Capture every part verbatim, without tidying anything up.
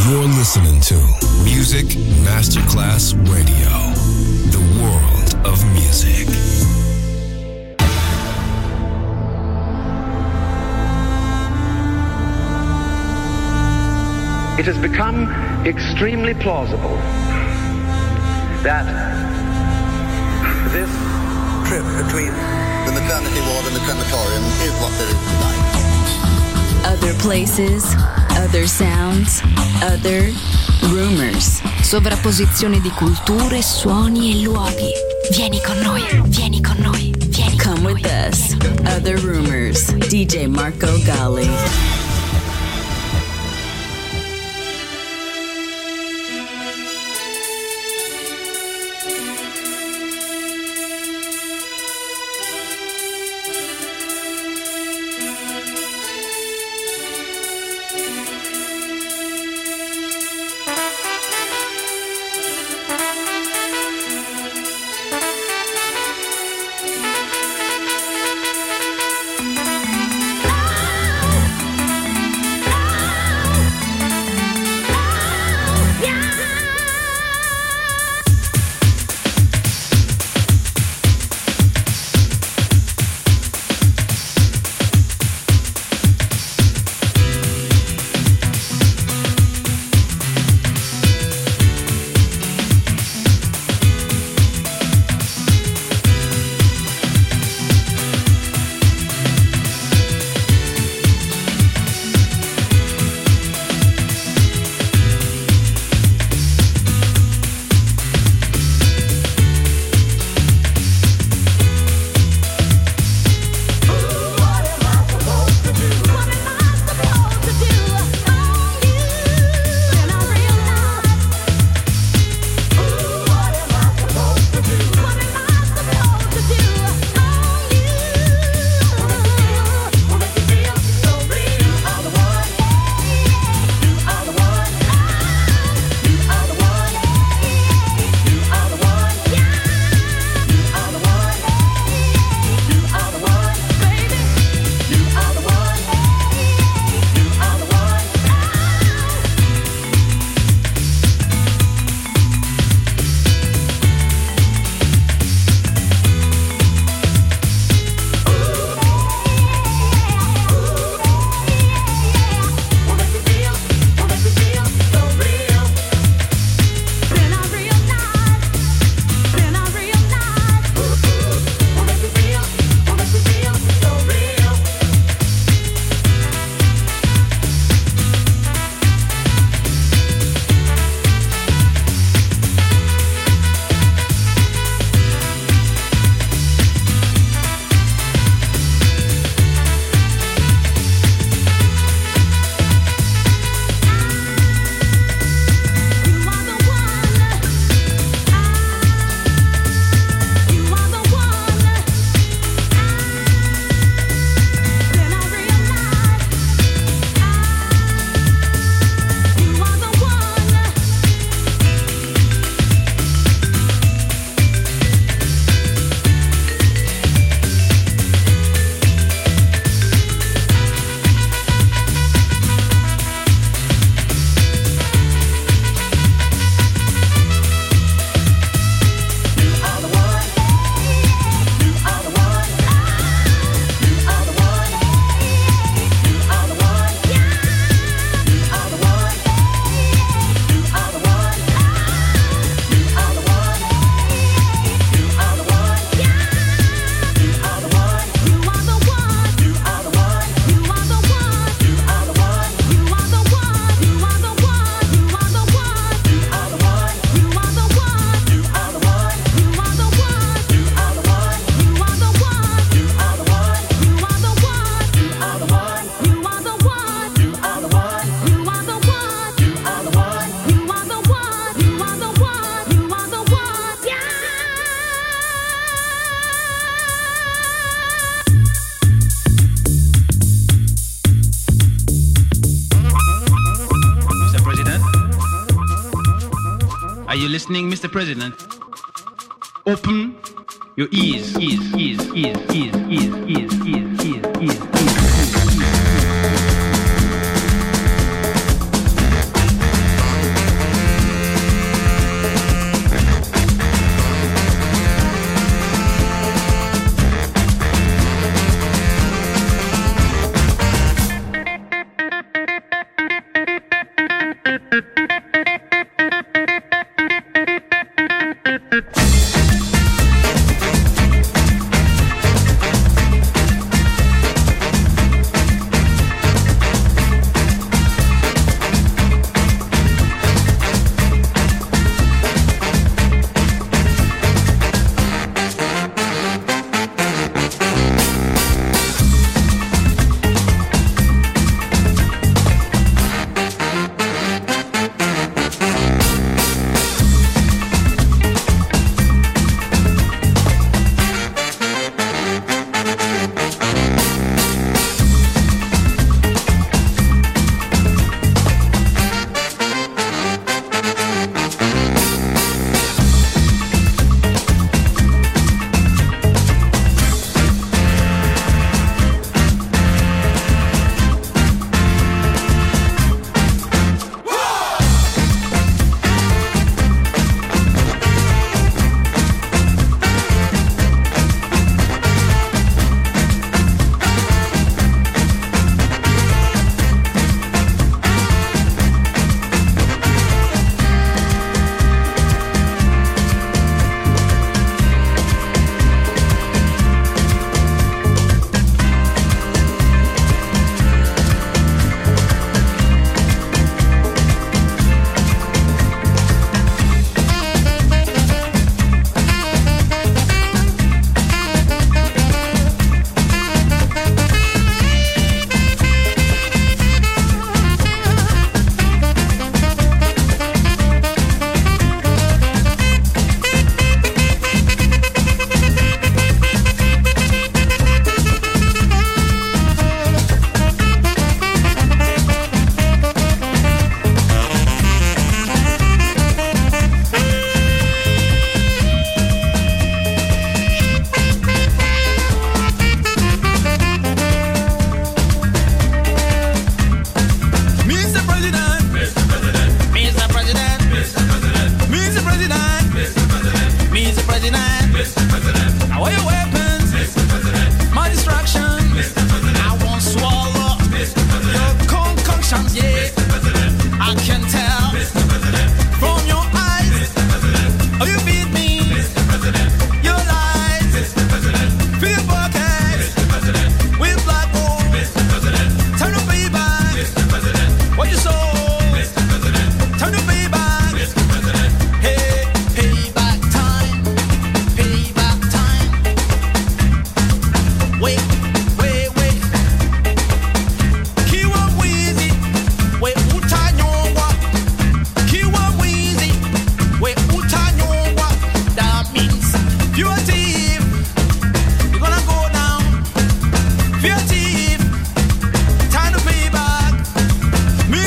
You're listening to Music Masterclass Radio, the world of music. It has become extremely plausible that this trip between the maternity ward and the crematorium is what there is tonight. Other places, other sounds, other rumors. Sovrapposizione di culture, suoni e luoghi. Vieni con noi, vieni con noi, vieni con noi. Come with us. Other Rumors. D J Marco Gally. Are you listening, Mister President? Open your ears, ears, ears, ears, ears, ears, ears, ears, ears, ears, ears.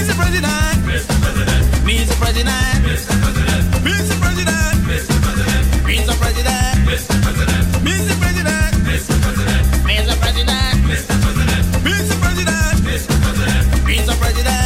Mister President, Mister President, Mister President, Mister President, Mister President, Mister President, Mister President, Mister President, Mister President, Mister President, Mister President, Mister President, Mister President, Mister President, Mister President.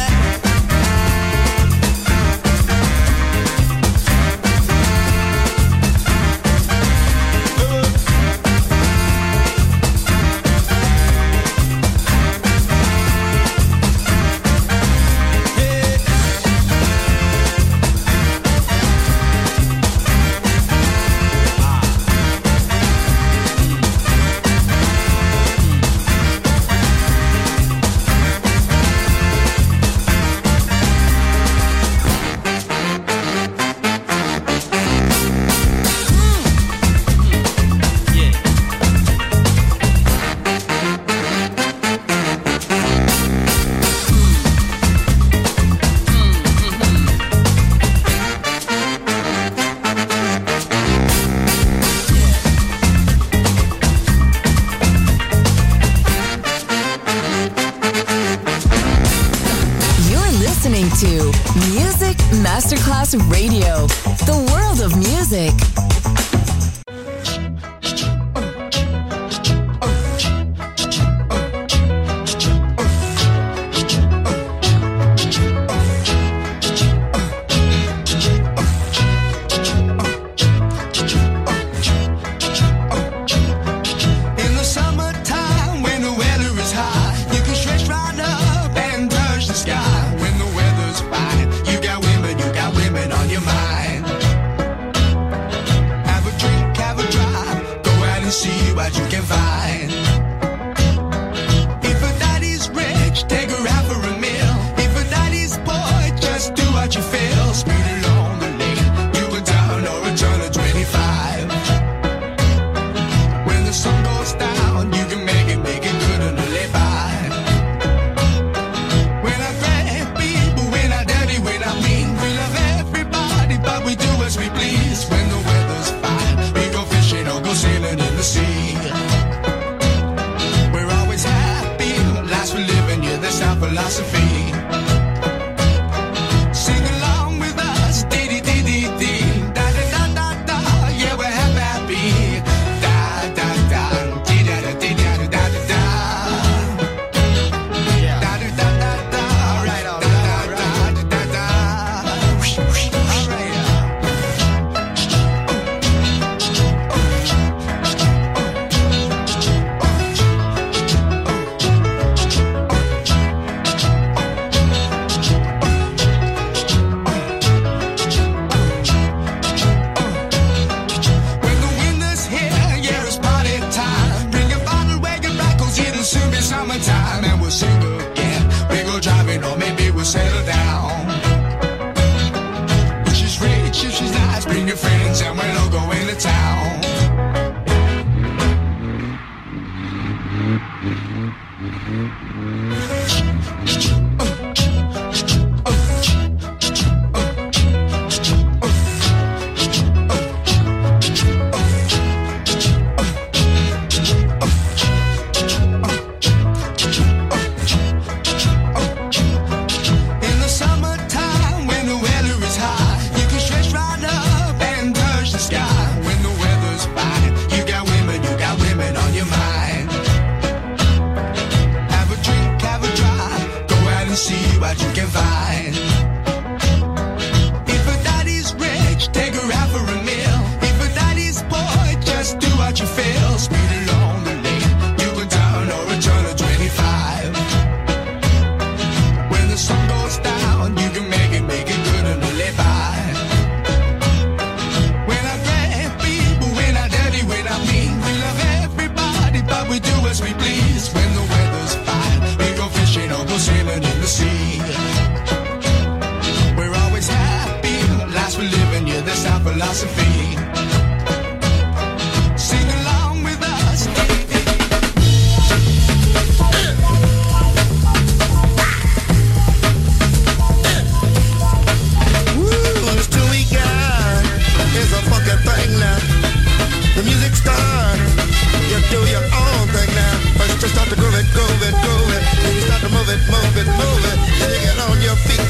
Masterclass Radio, the world of music. Move it, move it, move it. Then you get on your feet.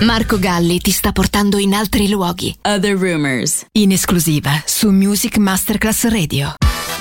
Marco Galli ti sta portando in altri luoghi. Other Rumors. In esclusiva su Music Masterclass Radio.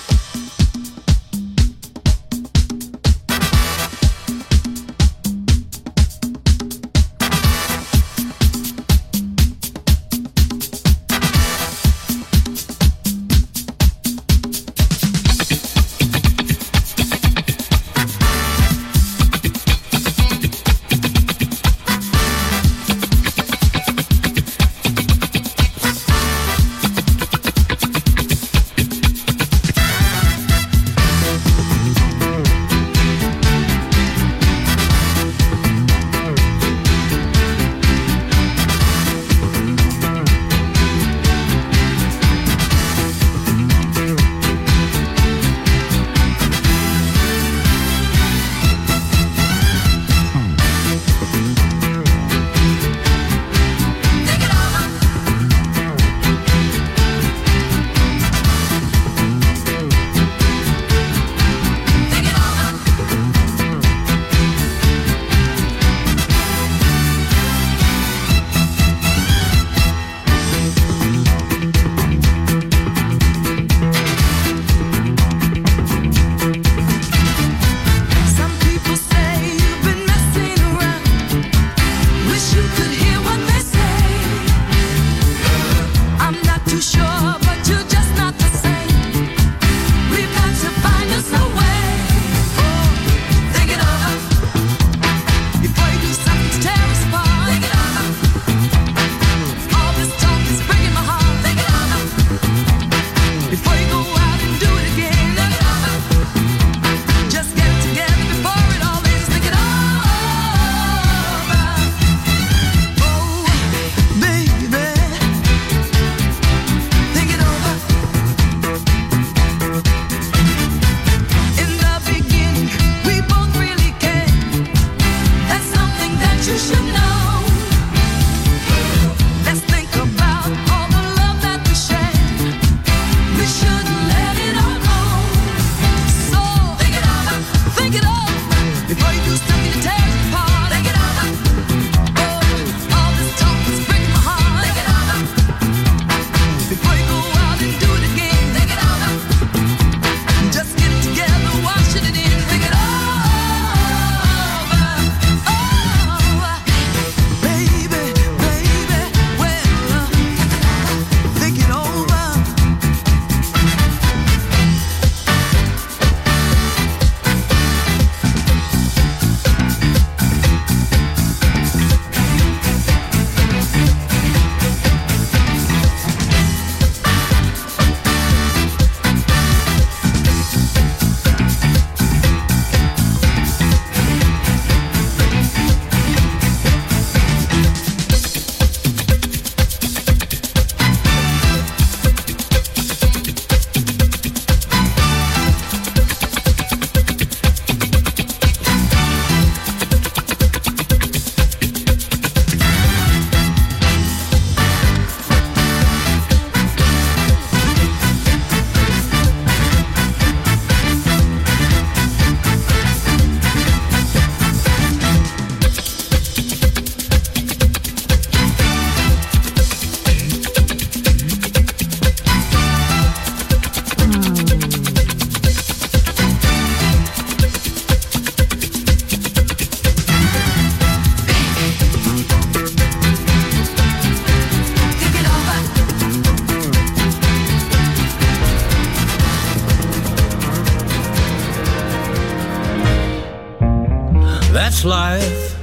That's life.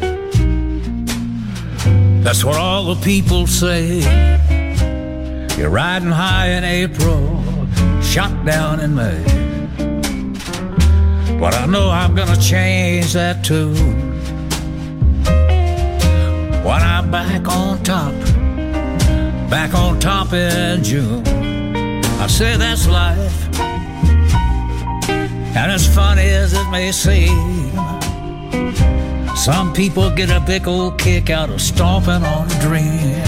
That's what all the people say. You're riding high in April, shot down in May. But I know I'm gonna change that too. When I'm back on top, back on top in June. I say that's life, and as funny as it may seem, some people get a big old kick out of stomping on a dream.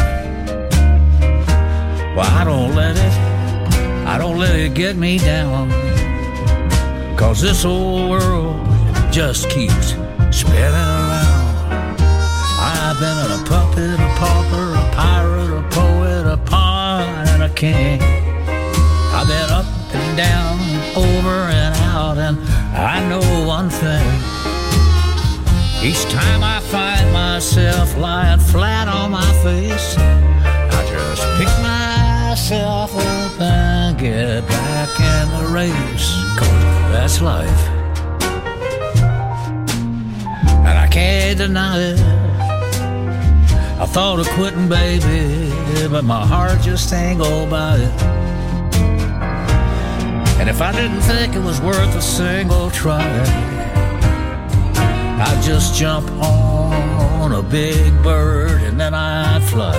Well, I don't let it, I don't let it get me down, 'cause this old world just keeps spinning around. I've been a puppet, a pauper, a pirate, a poet, a pawn, and a king. I've been up and down, over and out, and I know one thing. Each time I find myself lying flat on my face, I just pick myself up and get back in the race, 'cause that's life. And I can't deny it. I thought of quitting, baby, but my heart just ain't go by it. And if I didn't think it was worth a single try, I'd just jump on a big bird and then I'd fly.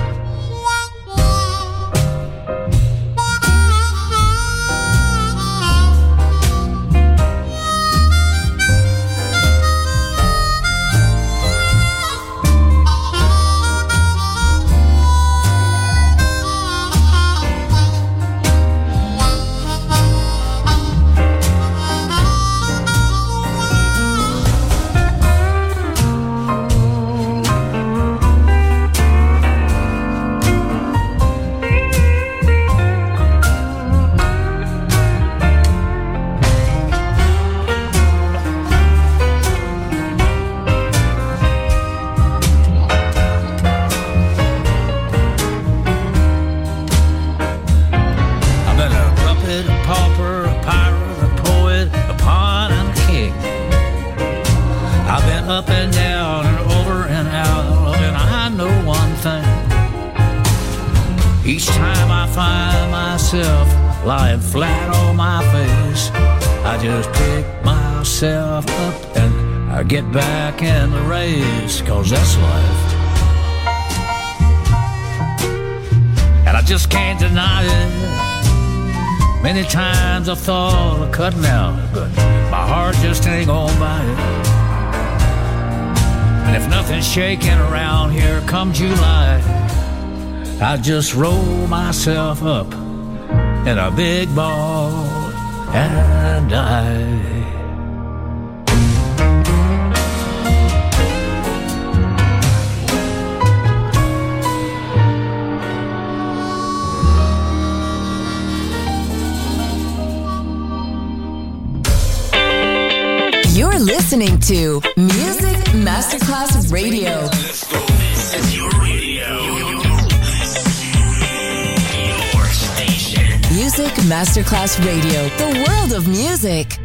Lying flat on my face, I just pick myself up and I get back in the race, 'cause that's life. And I just can't deny it. Many times I've thought of cutting out, but my heart just ain't gonna buy it. And if nothing's shaking around here come July, I just roll myself up in a big ball and die. You're listening to Music Masterclass Radio. Let's go. This is your radio. Your station. Music Masterclass Radio. The world of music.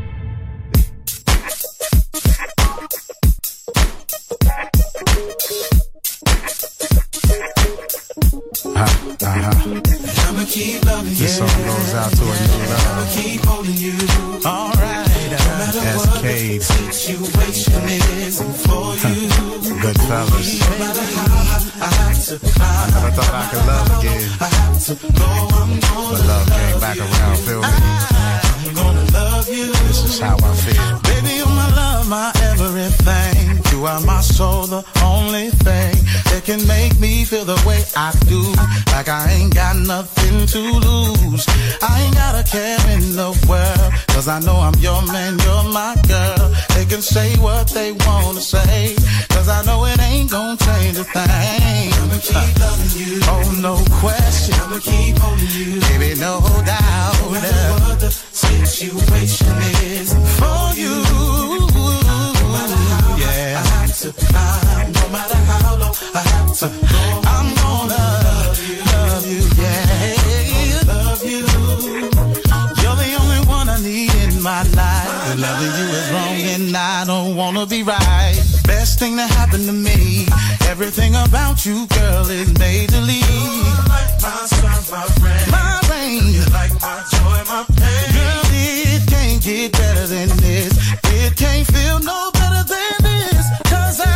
Uh, uh-huh. I'ma keep loving you. This song goes out to a new love. I'ma keep holding you. All right. No matter what the situation is for you. Good fellas. No matter how I have to climb. I never thought I could love again. I have to go, I'm gonna but love came back around, feel me? I'm gonna love you. This is how I feel. Baby, you're my love, my everything. You are my soul, the only thing that can make me feel the way I do. Like I ain't got nothing to lose. I ain't got a care in the world, 'cause I know I'm your man, you're my girl. They can say what they wanna say, 'cause I know it ain't gonna change a thing. I'ma keep loving you. Oh, no question. I'ma keep holding you. Baby, no doubt. No matter what the situation is for you. No matter how yeah. I have to climb, no matter how low I have to go, I'm gonna love you, love you, yeah, love you. You're the only one I need in my life. But loving you is wrong and I don't wanna be right. Best thing that happened to me. Everything about you, girl, is major league. You're like my sun, my rain, my rain. You're like my joy, my pain. Girl, it can't get better than this. It can't feel no better than this. 'Cause I,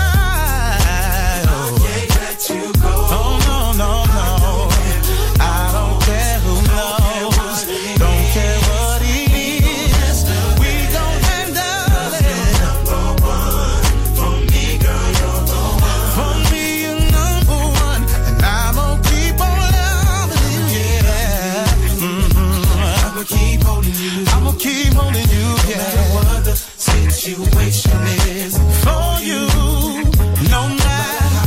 oh, I can't let you go. Oh, no, no, no. I don't care who knows. Don't care what it is. We gon' handle it. Number one. For me, girl, you're the one. For me, you're number one. And I'm gonna keep on loving you, yeah. Mm-hmm. I'ma keep holding you. I'ma keep holding you, yeah. No matter what the situation is for you. No matter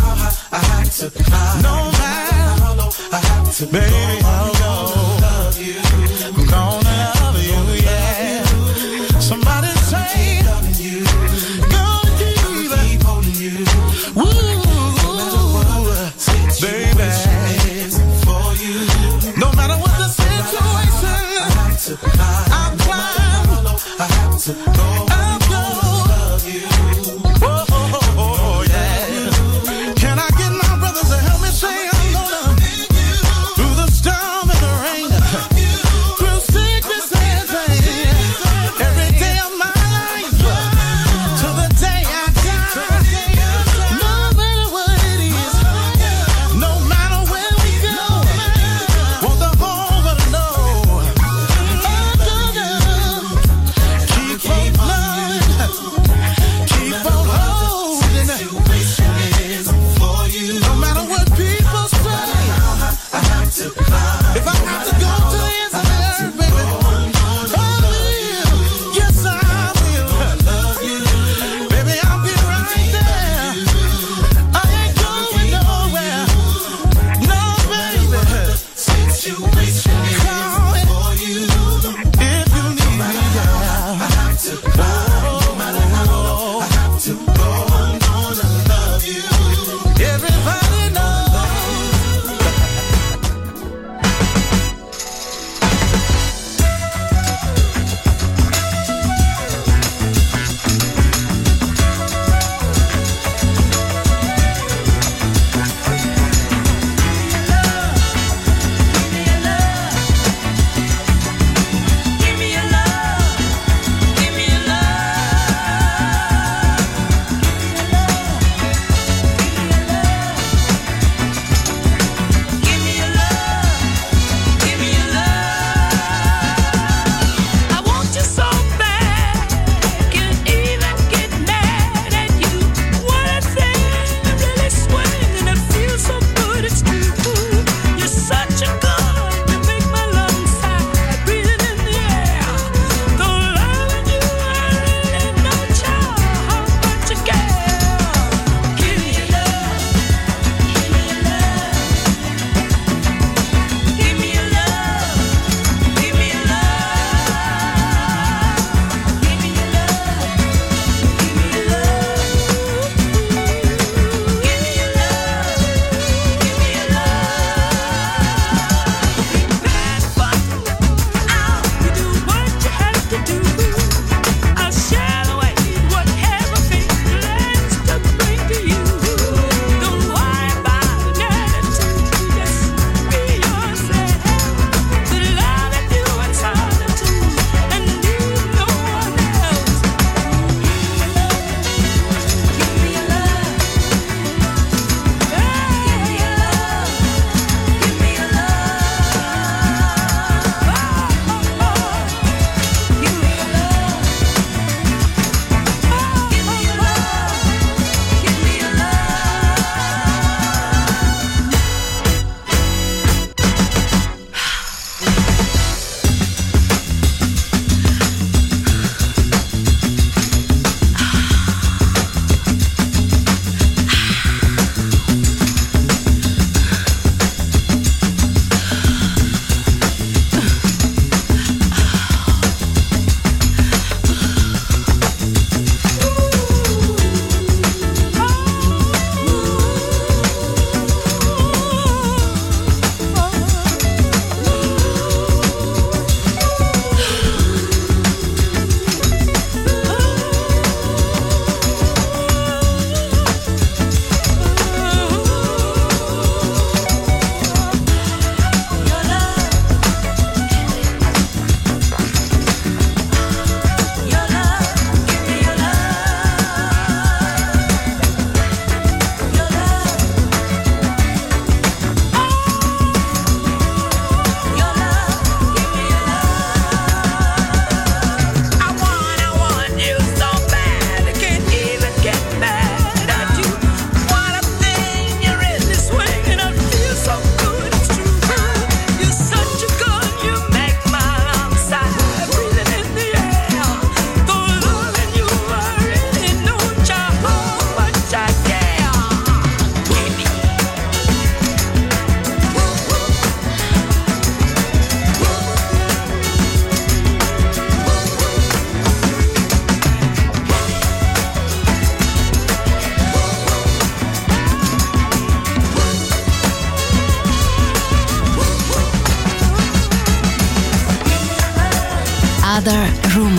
to climb. No matter how low I have to baby, go, I'm gonna love you. I'm gonna love you, yeah. Somebody say, loving you. Gonna keep, keep holding you. Woo, no matter what situation is for you. No matter what the situation, I have to climb. I'll climb. I have to go. I'll go. Love you. Oh, oh, oh, oh, yeah. Can I get my brothers to help me say I'm gonna through the storm?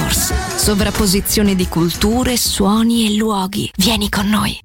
Rumors. Sovrapposizione di culture, suoni e luoghi. Vieni con noi.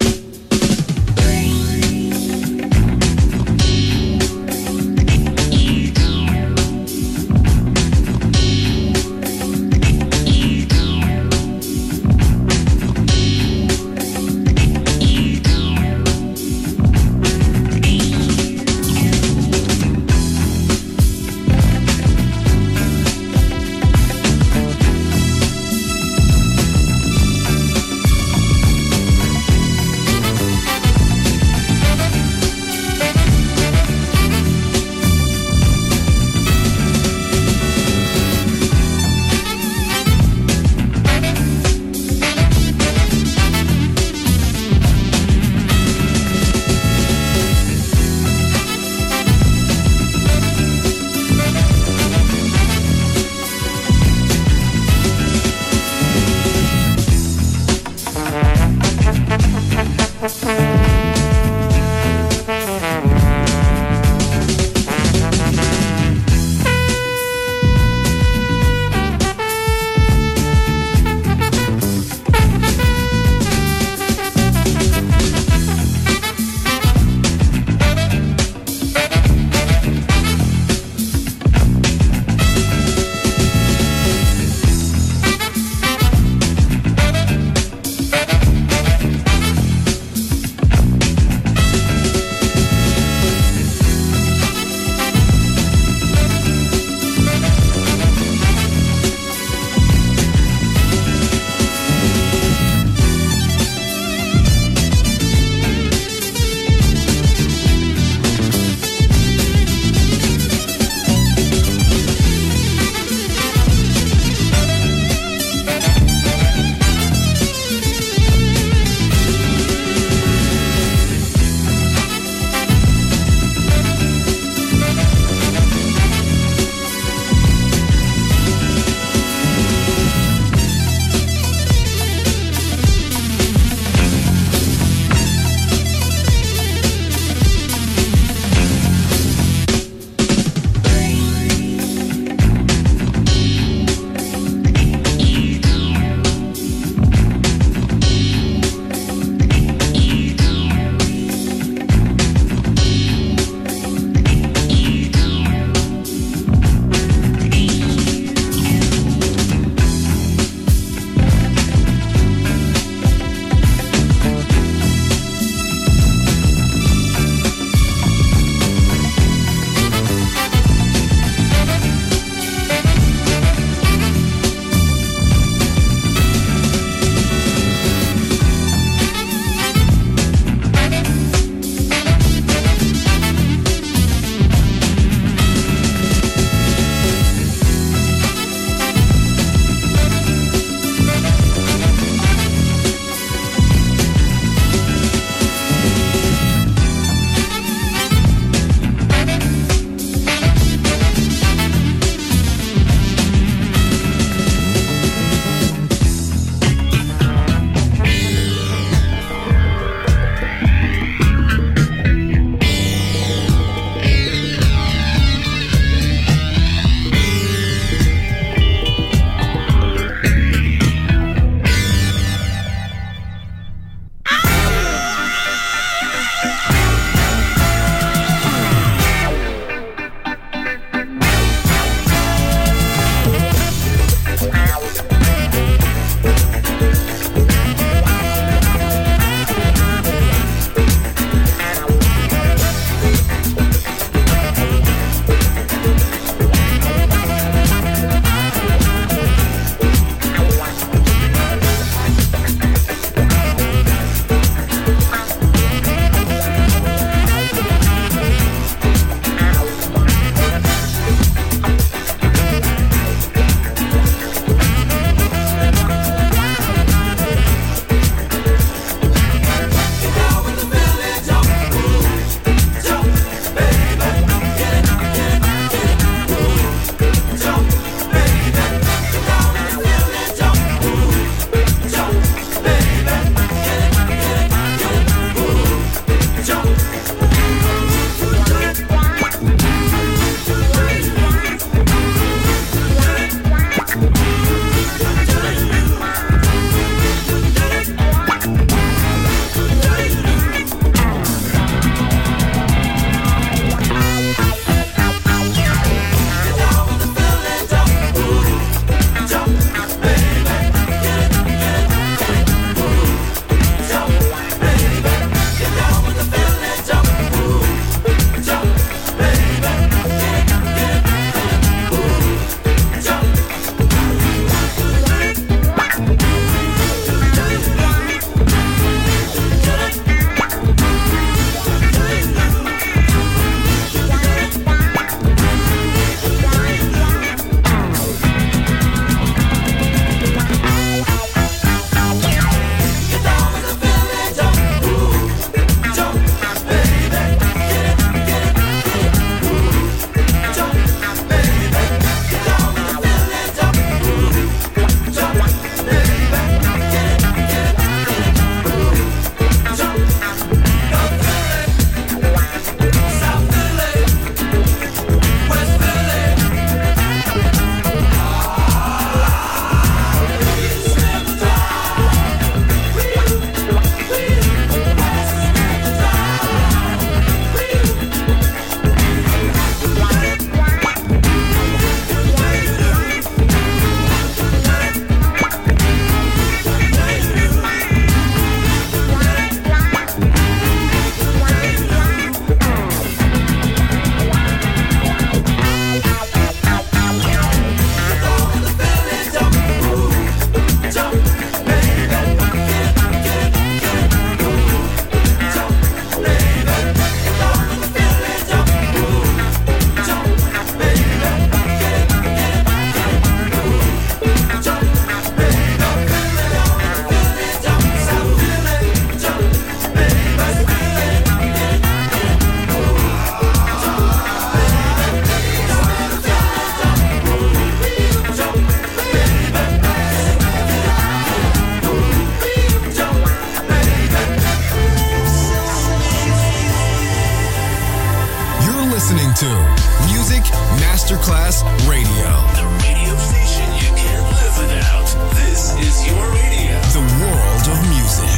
Masterclass Radio. The radio station you can't live without. This is your radio. The world of music.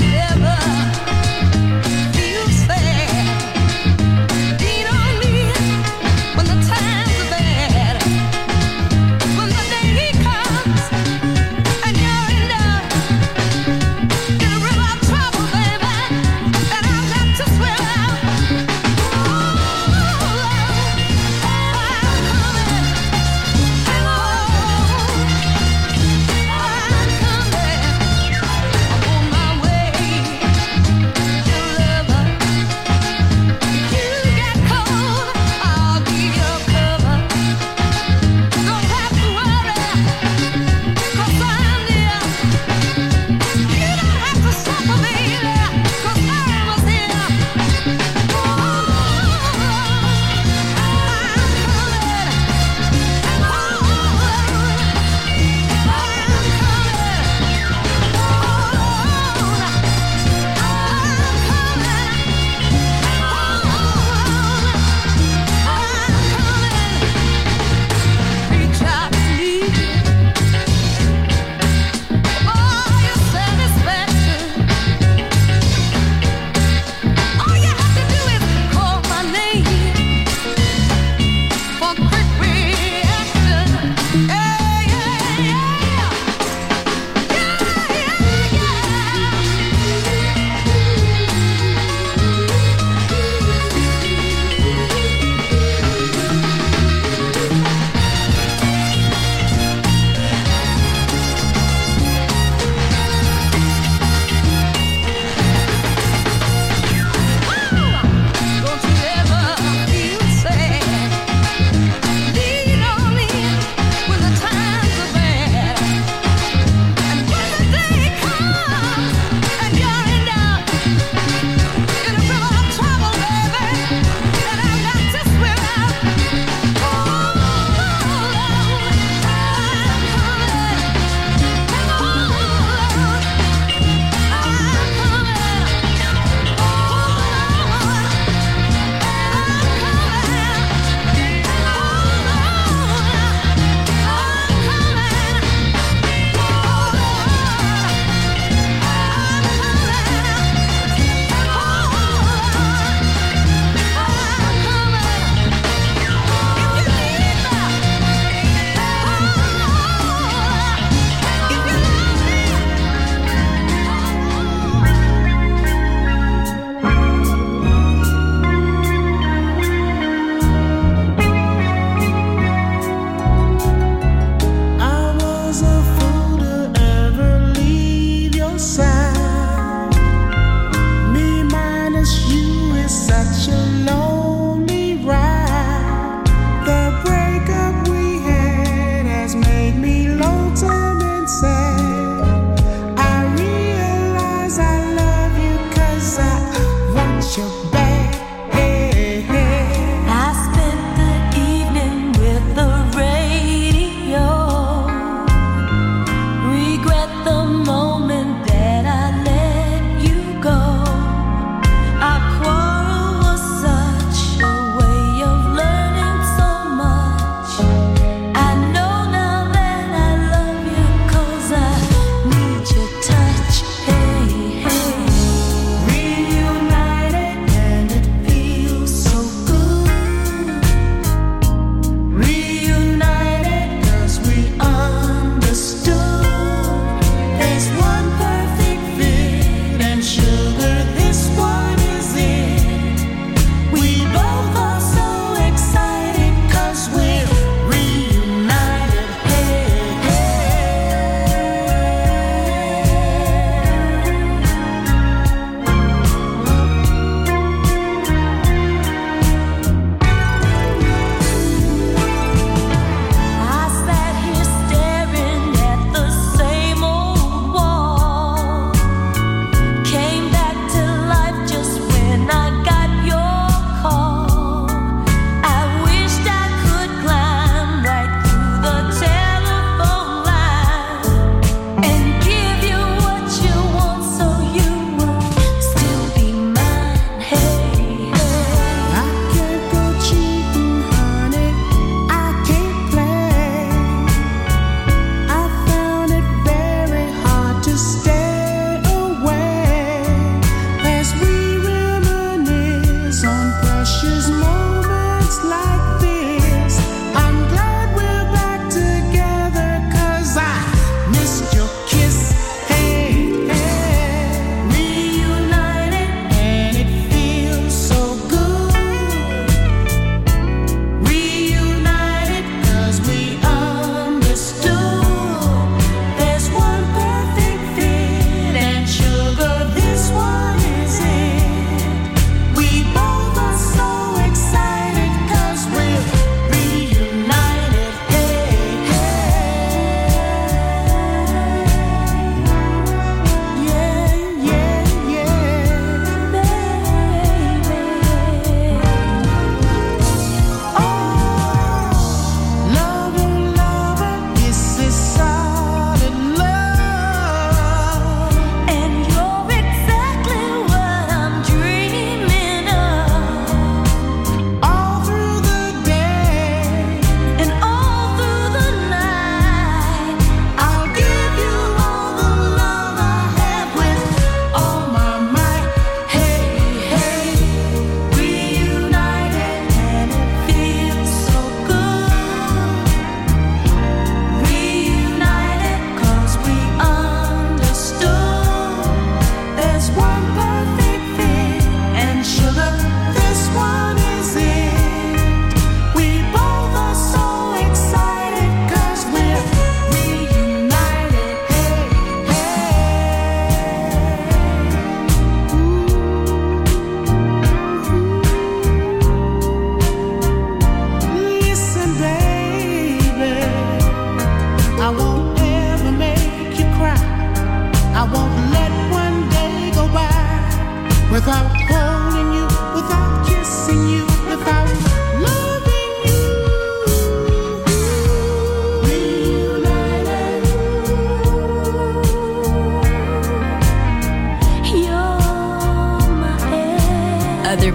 Feel sad, lean on me.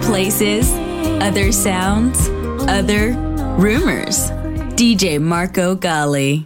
places, other sounds, other rumors. D J Marco Gally.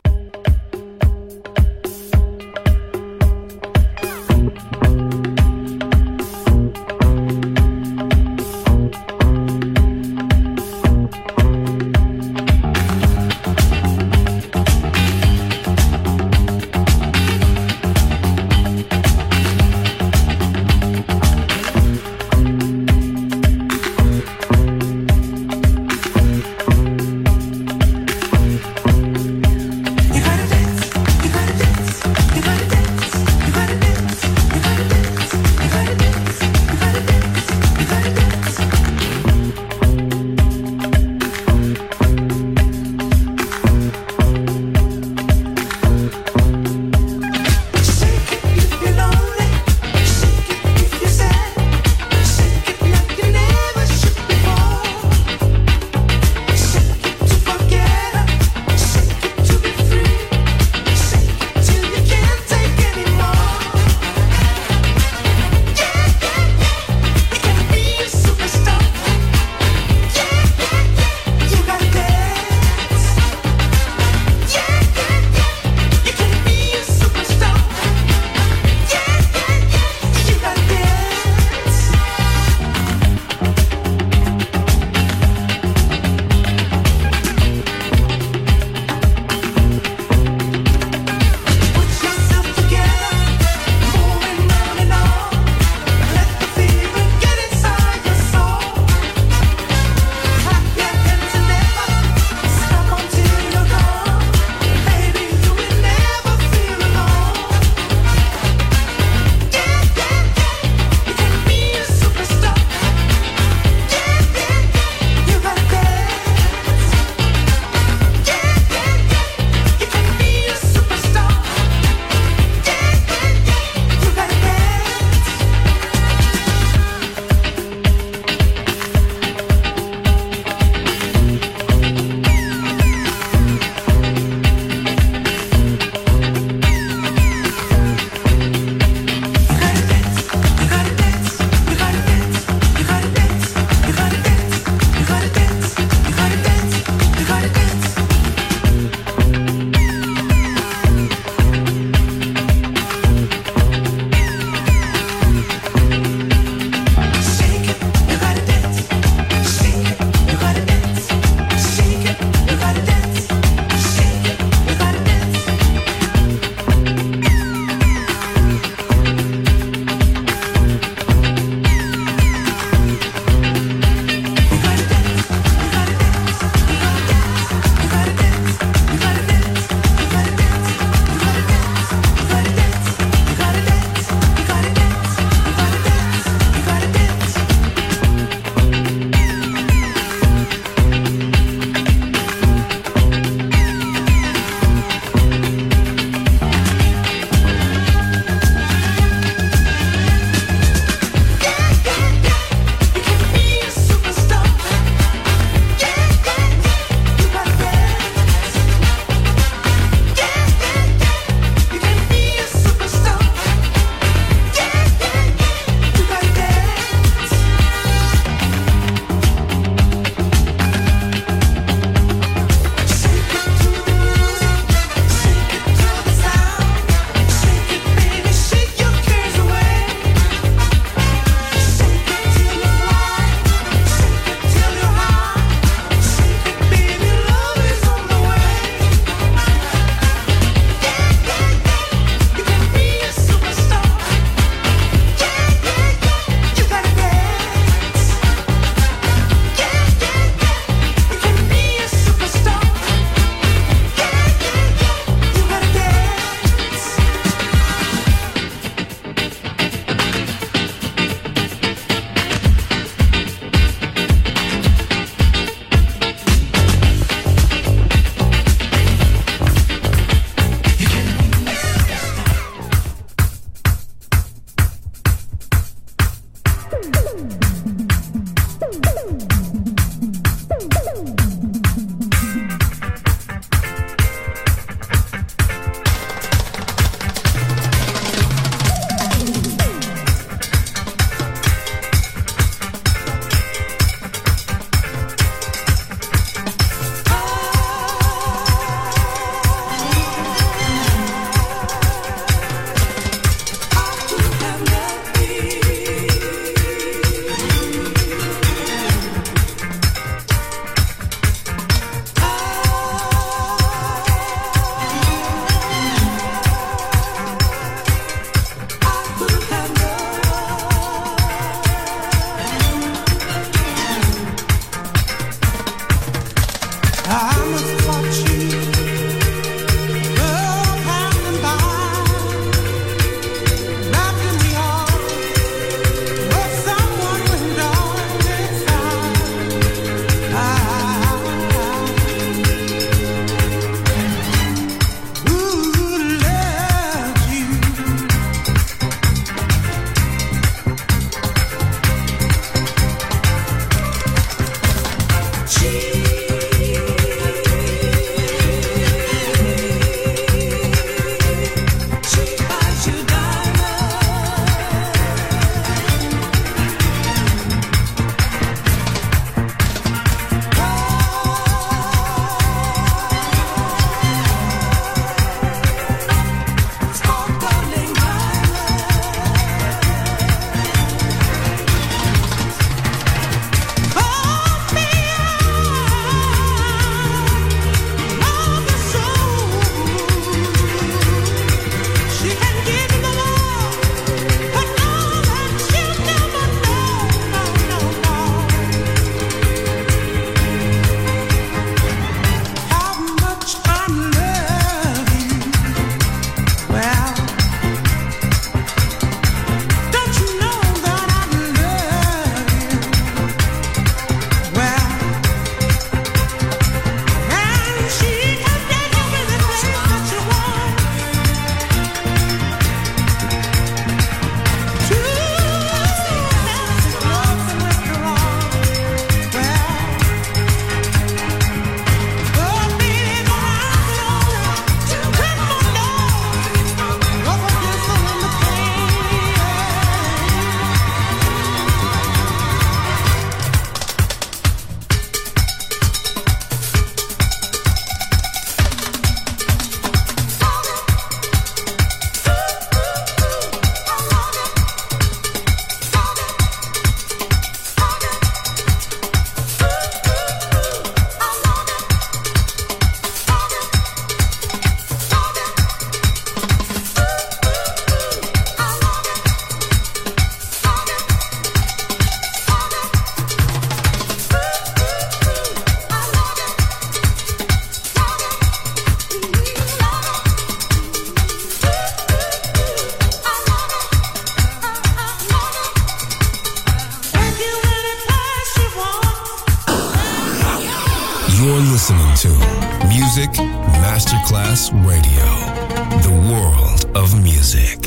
Masterclass Radio, the world of music.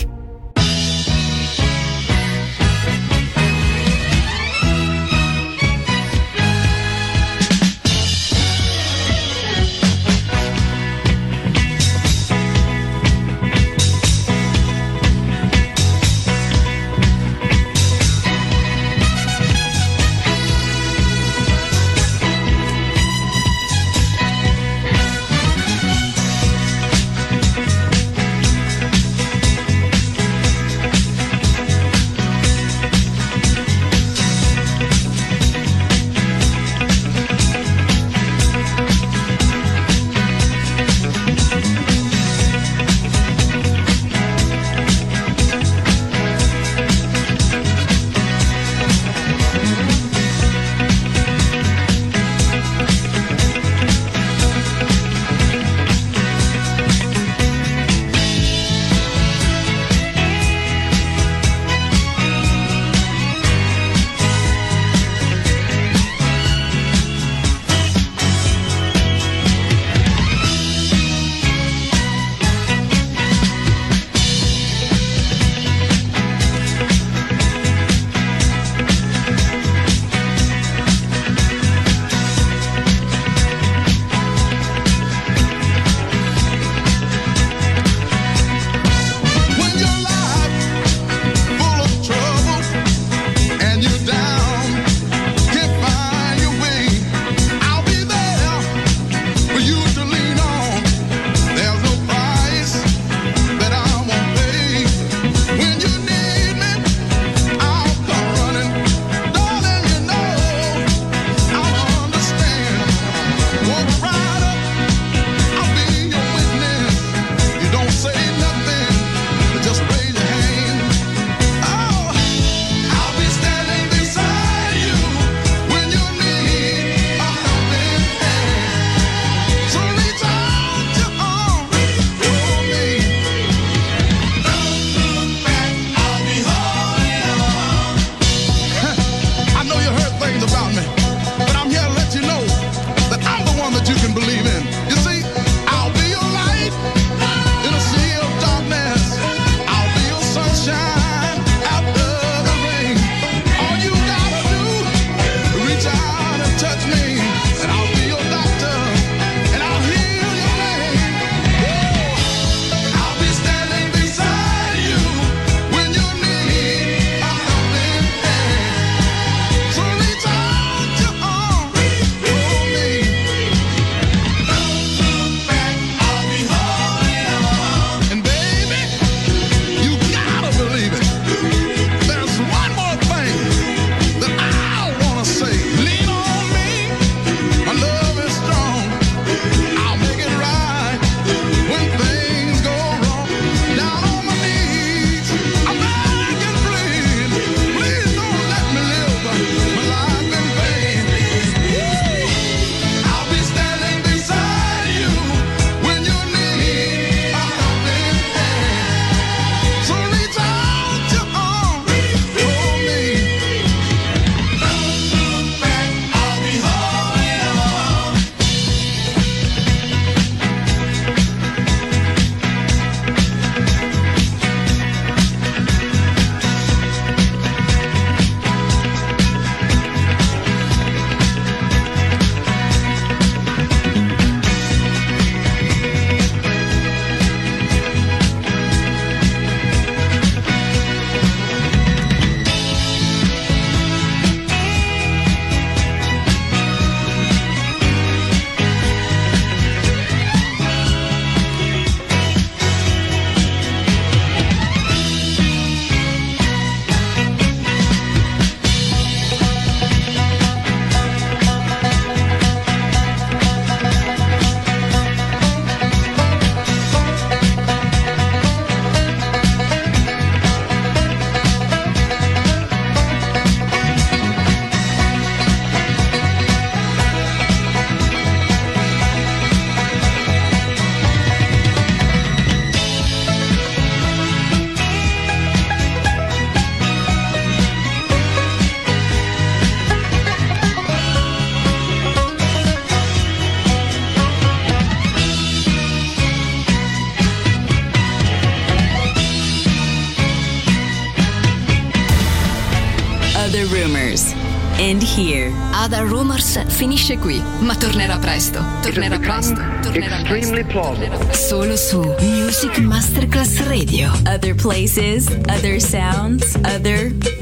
Other Rumors. And here, Other Rumors finisce qui, ma tornerà presto. Tornerà presto. Tornerà presto. Tornerà presto. Solo su Music Masterclass Radio. Other places, other sounds, other